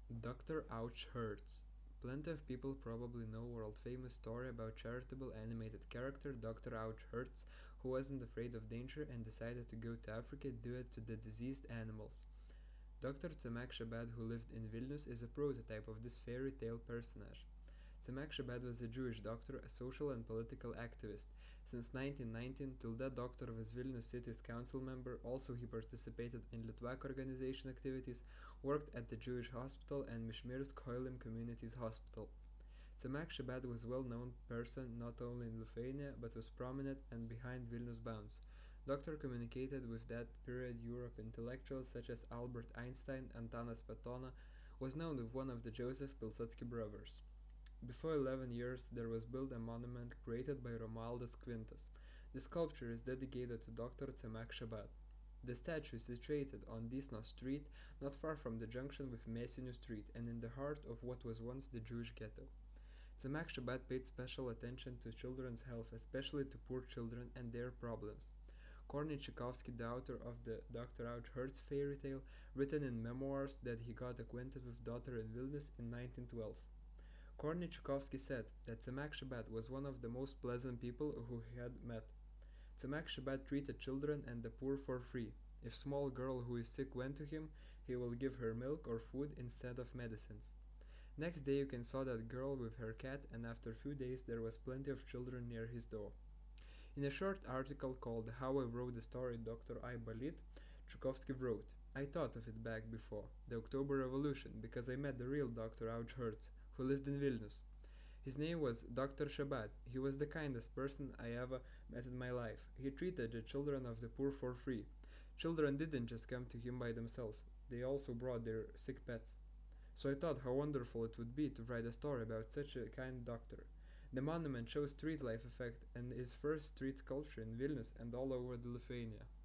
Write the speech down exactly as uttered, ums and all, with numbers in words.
Doctor Ouch Hurts. Plenty of people probably know world-famous story about charitable animated character Doctor Ouch Hurts, who wasn't afraid of danger and decided to go to Africa due it to the diseased animals. Doctor Tsemak Shabbat, who lived in Vilnius, is a prototype of this fairy tale personage. Tsemak Shabbat was a Jewish doctor, a social and political activist. Since nineteen nineteen, till that doctor was Vilnius city's council member. Also, he participated in Litvak organization activities, worked at the Jewish hospital and Mishmirsk Hoilim Communities Hospital. Tsemak Shabbat was a well-known person not only in Lithuania but was prominent and behind Vilnius bounds. Doctor communicated with that period Europe intellectuals such as Albert Einstein and Antanas Smetona, was known as one of the Joseph Pilsudski brothers. Before eleven years, there was built a monument created by Romualdas Kvintas. The sculpture is dedicated to Doctor Tsemak Shabbat. The statue is situated on Dysno Street, not far from the junction with Mėsinių Street, and in the heart of what was once the Jewish ghetto. Tsemak Shabbat paid special attention to children's health, especially to poor children and their problems. Kornei Tchaikovsky, the author of the Doctor Ouch Hurts fairy tale, written in memoirs that he got acquainted with daughter in Vilnius in nineteen twelve. Kornei Tchaikovsky said that Tsemak Shabbat was one of the most pleasant people who he had met. Tsemak Shabbat treated children and the poor for free. If small girl who is sick went to him, he will give her milk or food instead of medicines. Next day you can saw that girl with her cat, and after few days there was plenty of children near his door. In a short article called How I Wrote the Story Doctor I Balit, Tchaikovsky wrote, I thought of it back before, the October Revolution, because I met the real Doctor Ouch Hurts, who lived in Vilnius. His name was Doctor Shabbat. He was the kindest person I ever met in my life. He treated the children of the poor for free. Children didn't just come to him by themselves, they also brought their sick pets. So I thought how wonderful it would be to write a story about such a kind doctor. The monument shows street life effect and is first street sculpture in Vilnius and all over the Lithuania.